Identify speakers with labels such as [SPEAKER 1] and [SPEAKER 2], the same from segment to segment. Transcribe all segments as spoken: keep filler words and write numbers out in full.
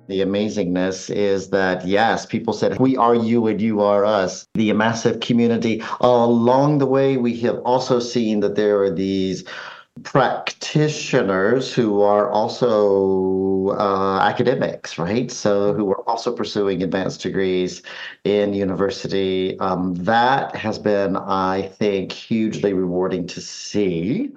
[SPEAKER 1] The amazingness is that, yes, people said, we are you and you are us. The massive community. Along the way, we have also seen that there are these practitioners who are also uh, academics, right? So who are also pursuing advanced degrees in university. Um, that has been, I think, hugely rewarding to see.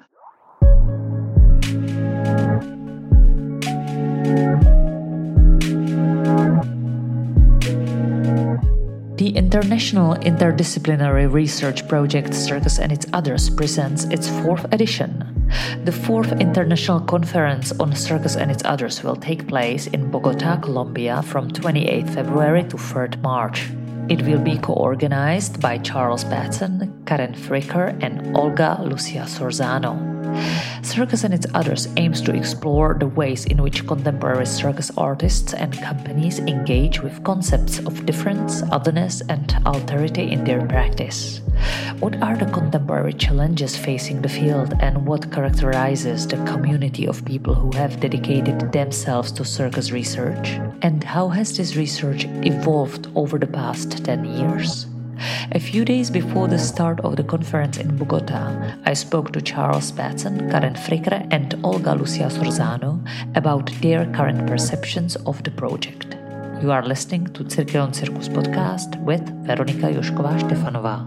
[SPEAKER 2] The International Interdisciplinary Research Project Circus and Its Others presents its fourth edition. The fourth International Conference on Circus and Its Others will take place in Bogota, Colombia from twenty-eighth February to third March. It will be co-organized by Charles Batson, Karen Fricker, and Olga Lucia Sorzano. Circus and Its Others aims to explore the ways in which contemporary circus artists and companies engage with concepts of difference, otherness, and alterity in their practice. What are the contemporary challenges facing the field, and what characterizes the community of people who have dedicated themselves to circus research? And how has this research evolved over the past ten years? A few days before the start of the conference in Bogota, I spoke to Charles Batson, Karen Fricker, and Olga Lucia Sorzano about their current perceptions of the project. You are listening to Cirkelon Circus podcast with Veronika Jošková-Štefanová.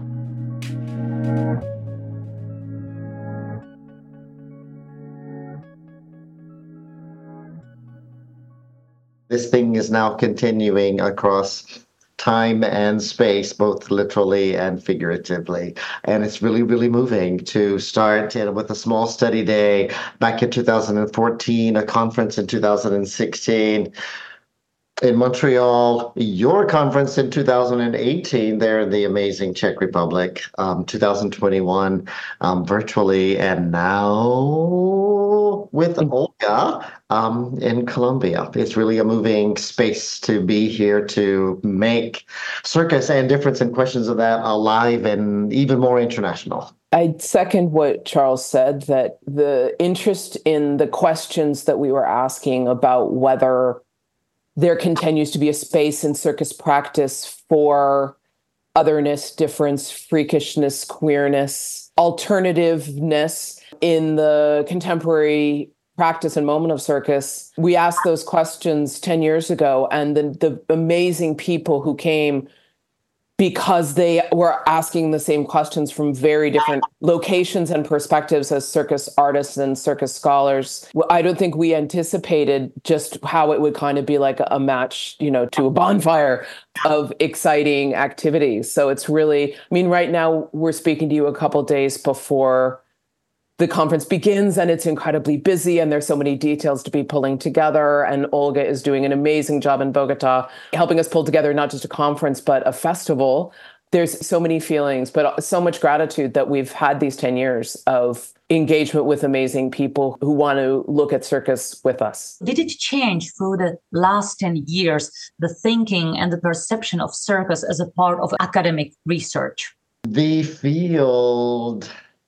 [SPEAKER 1] This thing is now continuing across time and space, both literally and figuratively. And it's really, really moving to start you know, with a small study day back in two thousand fourteen, a conference in two thousand sixteen. In Montreal, your conference in two thousand eighteen there in the amazing Czech Republic, um, two thousand twenty-one um, virtually, and now with Olga um, in Colombia. It's really a moving space to be here to make circus and difference and questions of that alive and even more international.
[SPEAKER 3] I second what Charles said, that the interest in the questions that we were asking about whether there continues to be a space in circus practice for otherness, difference, freakishness, queerness, alternativeness in the contemporary practice and moment of circus. We asked those questions ten years ago, and the, the amazing people who came because they were asking the same questions from very different locations and perspectives as circus artists and circus scholars. I don't think we anticipated just how it would kind of be like a match, you know, to a bonfire of exciting activities. So it's really, I mean, right now we're speaking to you a couple days before the conference begins, and it's incredibly busy, and there's so many details to be pulling together. And Olga is doing an amazing job in Bogota, helping us pull together not just a conference, but a festival. There's so many feelings, but so much gratitude that we've had these ten years of engagement with amazing people who want to look at circus with us.
[SPEAKER 4] Did it change through the last ten years, the thinking and the perception of circus as a part of academic research?
[SPEAKER 1] The field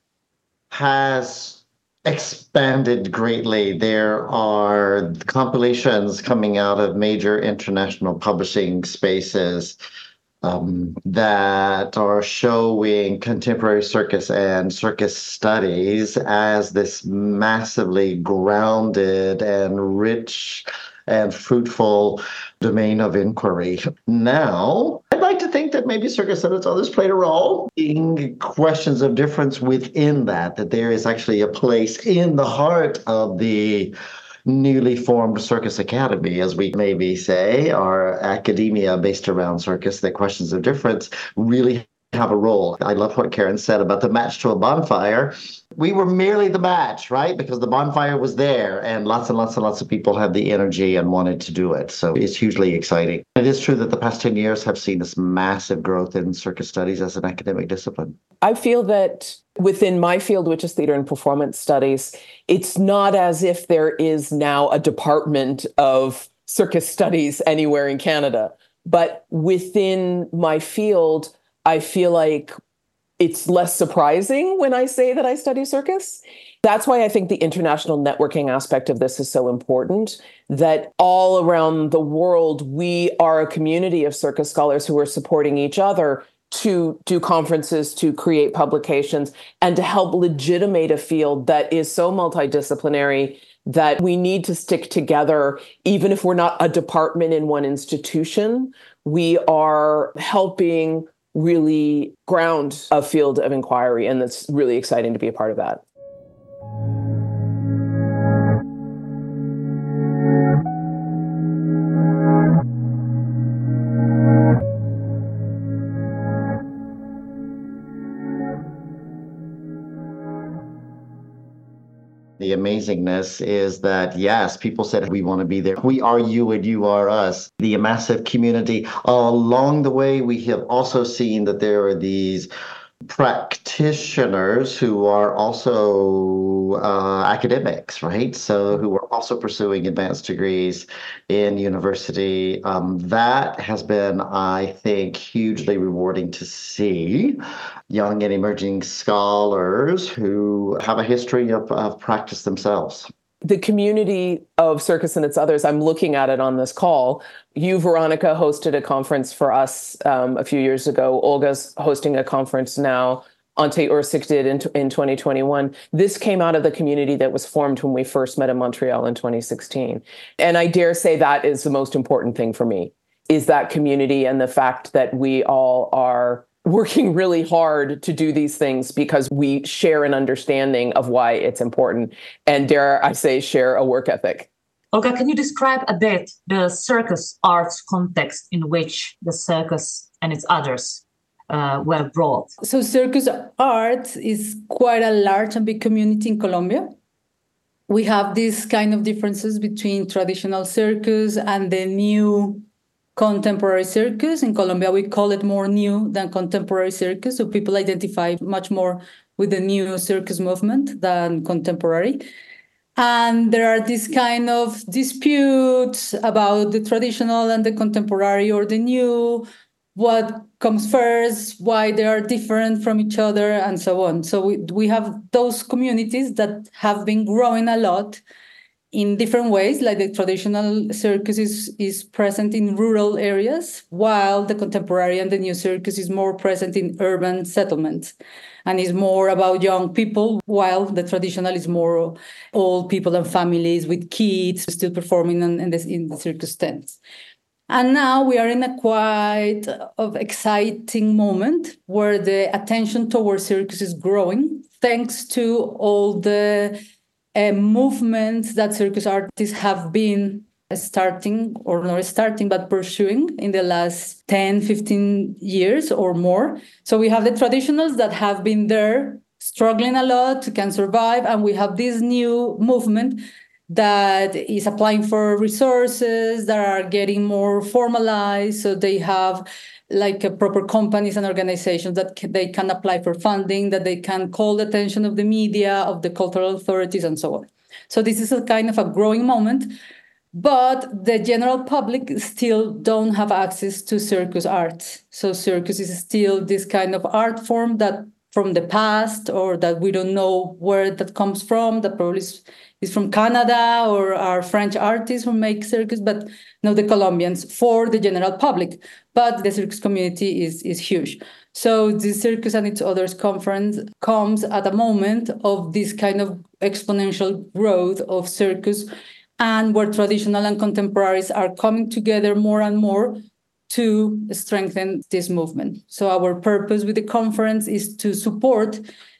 [SPEAKER 1] has expanded greatly. There are compilations coming out of major international publishing spaces um, that are showing contemporary circus and circus studies as this massively grounded and rich and fruitful domain of inquiry. Now, I'd like to think that maybe circus and its others played a role in questions of difference within that, that there is actually a place in the heart of the newly formed Circus Academy, as we maybe say, our academia based around circus, that questions of difference really have a role. I love what Karen said about the match to a bonfire. We were merely the match, right? Because the bonfire was there and lots and lots and lots of people had the energy and wanted to do it. So it's hugely exciting. It is true that the past ten years have seen this massive growth in circus studies as an academic discipline.
[SPEAKER 3] I feel that within my field, which is theater and performance studies, it's not as if there is now a department of circus studies anywhere in Canada. But within my field, I feel like it's less surprising when I say that I study circus. That's why I think the international networking aspect of this is so important, that all around the world, we are a community of circus scholars who are supporting each other to do conferences, to create publications, and to help legitimate a field that is so multidisciplinary that we need to stick together. Even if we're not a department in one institution, we are helping really ground a field of inquiry, and it's really exciting to be a part of that.
[SPEAKER 1] The amazingness is that, yes, people said, we want to be there. We are you and you are us. The massive community. Along the way, we have also seen that there are these practitioners who are also uh, academics, right? So who are also pursuing advanced degrees in university. Um, that has been, I think, hugely rewarding to see. Young and emerging scholars who have a history of, of practice themselves.
[SPEAKER 3] The community of Circus and Its Others, I'm looking at it on this call. You, Veronica, hosted a conference for us um, a few years ago. Olga's hosting a conference now. Ante Ursik did in, in twenty twenty-one. This came out of the community that was formed when we first met in Montreal in twenty sixteen. And I dare say that is the most important thing for me, is that community and the fact that we all are working really hard to do these things because we share an understanding of why it's important. And dare I say, share a work ethic.
[SPEAKER 4] Olga, can you describe a bit the circus arts context in which the circus and its others uh, were brought?
[SPEAKER 5] So circus art is quite a large and big community in Colombia. We have these kind of differences between traditional circus and the new contemporary circus. In Colombia, we call it more new than contemporary circus. So people identify much more with the new circus movement than contemporary. And there are these kind of disputes about the traditional and the contemporary or the new, what comes first, why they are different from each other, and so on. So we, we have those communities that have been growing a lot in different ways, like the traditional circus is, is present in rural areas, while the contemporary and the new circus is more present in urban settlements and is more about young people, while the traditional is more old people and families with kids still performing in, in, the, in the circus tents. And now we are in a quite of exciting moment where the attention towards circus is growing, thanks to all the Uh, movements that circus artists have been starting, or not starting, but pursuing in the last ten, fifteen years or more. So we have the traditionals that have been there struggling a lot, can survive, and we have this new movement that is applying for resources that are getting more formalized. So they have like a proper companies and organizations that can, they can apply for funding, that they can call the attention of the media, of the cultural authorities, and so on. So this is a kind of a growing moment, but the general public still don't have access to circus art. So circus is still this kind of art form that from the past, or that we don't know where that comes from, that probably is, is from Canada or our French artists who make circus, but no, the Colombians for the general public. But the circus community is, is huge. So the Circus and Its Others conference comes at a moment of this kind of exponential growth of circus, and where traditional and contemporaries are coming together more and more to strengthen this movement. So our purpose with the conference is to support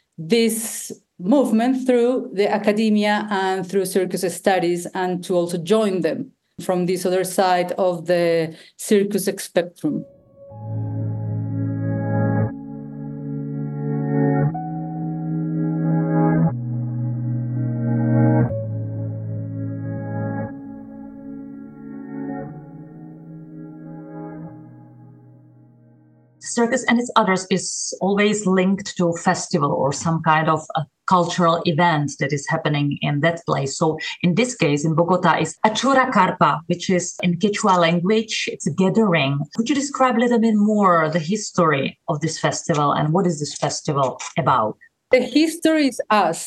[SPEAKER 5] this movement through the academia and through circus studies, and to also join them from this other side of the circus spectrum.
[SPEAKER 4] Circus and Its Others is always linked to a festival or some kind of a cultural event that is happening in that place. So in this case, in Bogota, is Achura Carpa, which is in Quechua language. It's a gathering. Could you describe a little bit more the history of this festival and what is this festival about?
[SPEAKER 5] The history is us.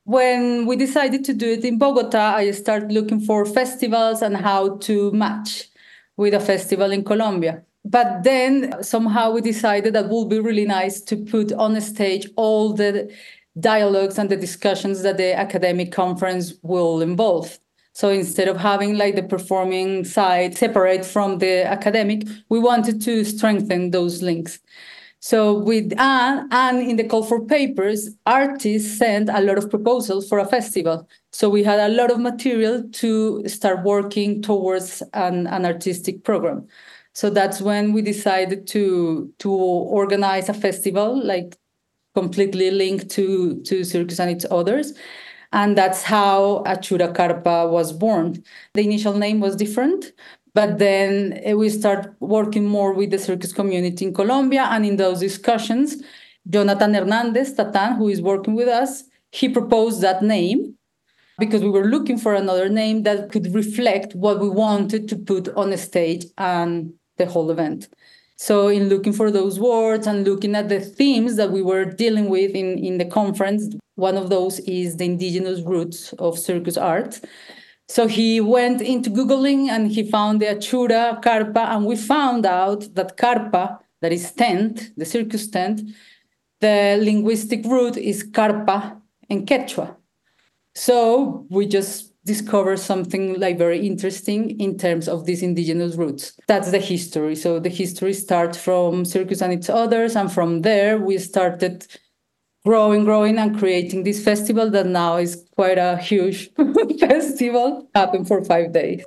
[SPEAKER 5] When we decided to do it in Bogota, I started looking for festivals and how to match with a festival in Colombia. But then somehow we decided that it would be really nice to put on a stage all the dialogues and the discussions that the academic conference will involve. So instead of having like the performing side separate from the academic, we wanted to strengthen those links. So with Anne, and in the call for papers, artists sent a lot of proposals for a festival. So we had a lot of material to start working towards an, an artistic program. So that's when we decided to, to organize a festival, like completely linked to, to Circus and its others. And that's how Achura Carpa was born. The initial name was different, but then we start working more with the circus community in Colombia. And in those discussions, Jonathan Hernandez, Tatan, who is working with us, he proposed that name because we were looking for another name that could reflect what we wanted to put on the stage and the whole event. So in looking for those words and looking at the themes that we were dealing with in, in the conference, one of those is the indigenous roots of circus art. So he went into Googling and he found the Achura Carpa, and we found out that Carpa, that is tent, the circus tent, the linguistic root is Carpa in Quechua. So we just discovered something like very interesting in terms of these indigenous roots. That's the history. So the history starts from Circus and its others, and from there we started growing, growing, and creating this festival that now is quite a huge festival, happened for five days.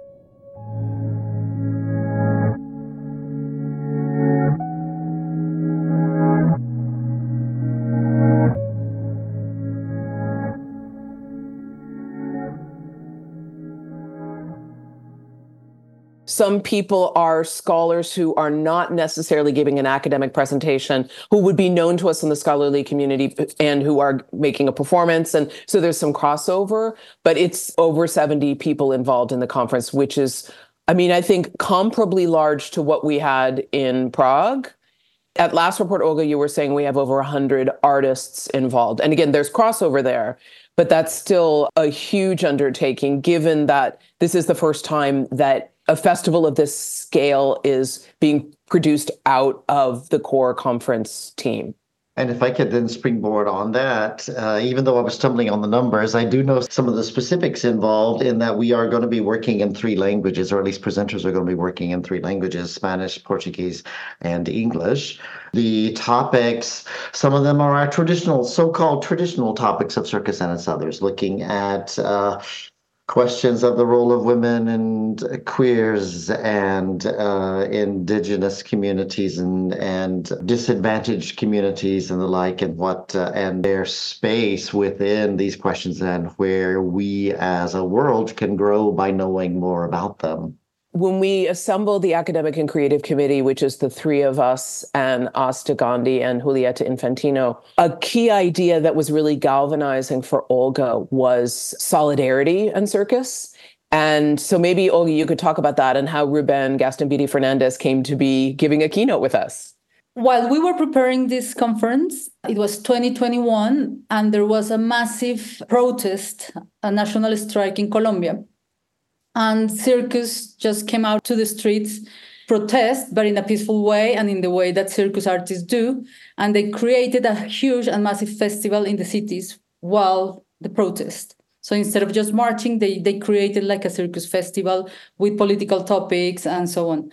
[SPEAKER 3] Some people are scholars who are not necessarily giving an academic presentation, who would be known to us in the scholarly community and who are making a performance. And so there's some crossover, but it's over seventy people involved in the conference, which is, I mean, I think comparably large to what we had in Prague. At last report, Olga, you were saying we have over one hundred artists involved. And again, there's crossover there, but that's still a huge undertaking, given that this is the first time that a festival of this scale is being produced out of the core conference team.
[SPEAKER 1] And if I could then springboard on that, uh, even though I was stumbling on the numbers, I do know some of the specifics involved in that we are going to be working in three languages, or at least presenters are going to be working in three languages, Spanish, Portuguese, and English. The topics, some of them are our traditional, so-called traditional topics of circus and its others, looking at uh, questions of the role of women and queers and uh, indigenous communities and and disadvantaged communities and the like, and what uh, and their space within these questions, and where we as a world can grow by knowing more about them.
[SPEAKER 3] When we assembled the Academic and Creative Committee, which is the three of us and Asta Gandhi and Julieta Infantino, a key idea that was really galvanizing for Olga was solidarity and circus. And so maybe, Olga, you could talk about that and how Ruben Gastambide Fernandez came to be giving a keynote with us.
[SPEAKER 5] While we were preparing this conference, it was twenty twenty-one, and there was a massive protest, a national strike in Colombia. And circus just came out to the streets, protest, but in a peaceful way and in the way that circus artists do. And they created a huge and massive festival in the cities while the protest. So instead of just marching, they, they created like a circus festival with political topics and so on.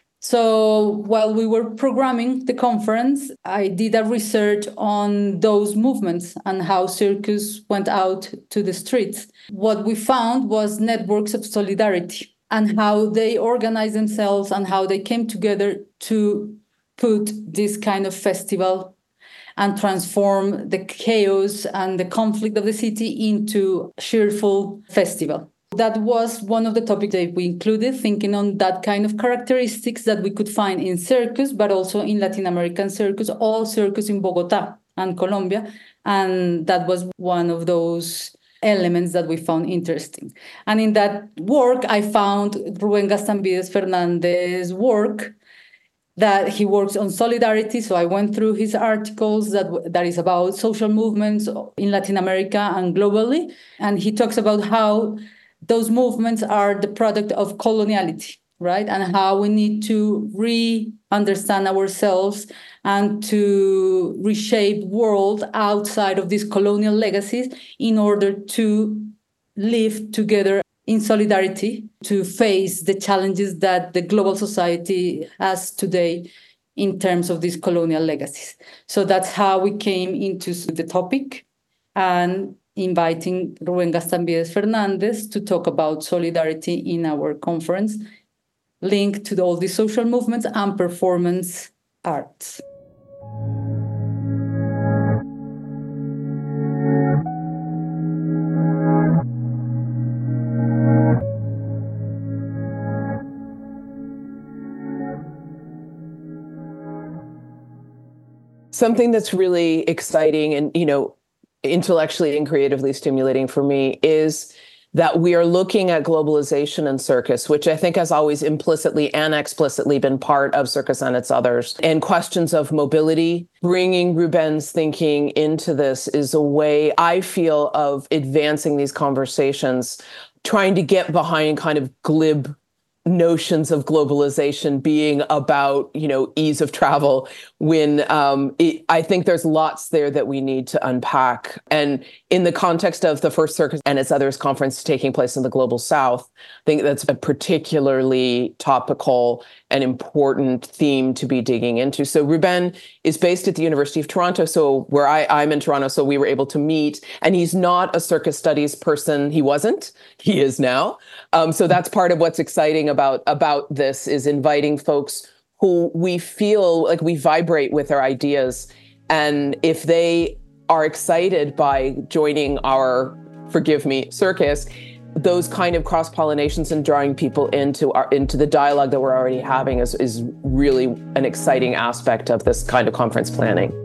[SPEAKER 5] So while we were programming the conference, I did a research on those movements and how circus went out to the streets. What we found was networks of solidarity and how they organized themselves and how they came together to put this kind of festival and transform the chaos and the conflict of the city into a cheerful festival. That was one of the topics that we included, thinking on that kind of characteristics that we could find in circus, but also in Latin American circus, all circus in Bogota and Colombia. And that was one of those elements that we found interesting. And in that work, I found Ruben Gastambide Fernandez's work that he works on solidarity. So I went through his articles that that is about social movements in Latin America and globally. And he talks about how those movements are the product of coloniality, right? And how we need to re-understand ourselves and to reshape world outside of these colonial legacies in order to live together in solidarity to face the challenges that the global society has today in terms of these colonial legacies. So that's how we came into the topic and inviting Rubén Gaztambide Fernández to talk about solidarity in our conference, linked to all these social movements and performance arts.
[SPEAKER 3] Something that's really exciting and, you know, intellectually and creatively stimulating for me is that we are looking at globalization and circus, which I think has always implicitly and explicitly been part of Circus and its others. And questions of mobility, bringing Rubén's thinking into this is a way, I feel, of advancing these conversations, trying to get behind kind of glib notions of globalization being about, you know, ease of travel, when um, it, I think there's lots there that we need to unpack. And in the context of the first Circus and its others conference taking place in the Global South, I think that's a particularly topical and important theme to be digging into. So Rubén is based at the University of Toronto, so where I, I'm in Toronto, so we were able to meet. And he's not a circus studies person. He wasn't. He is now. Um, so that's part of what's exciting about, about this, is inviting folks who we feel like we vibrate with their ideas. And if they are excited by joining our, forgive me, circus, those kind of cross-pollinations and drawing people into our into the dialogue that we're already having is, is really an exciting aspect of this kind of conference planning.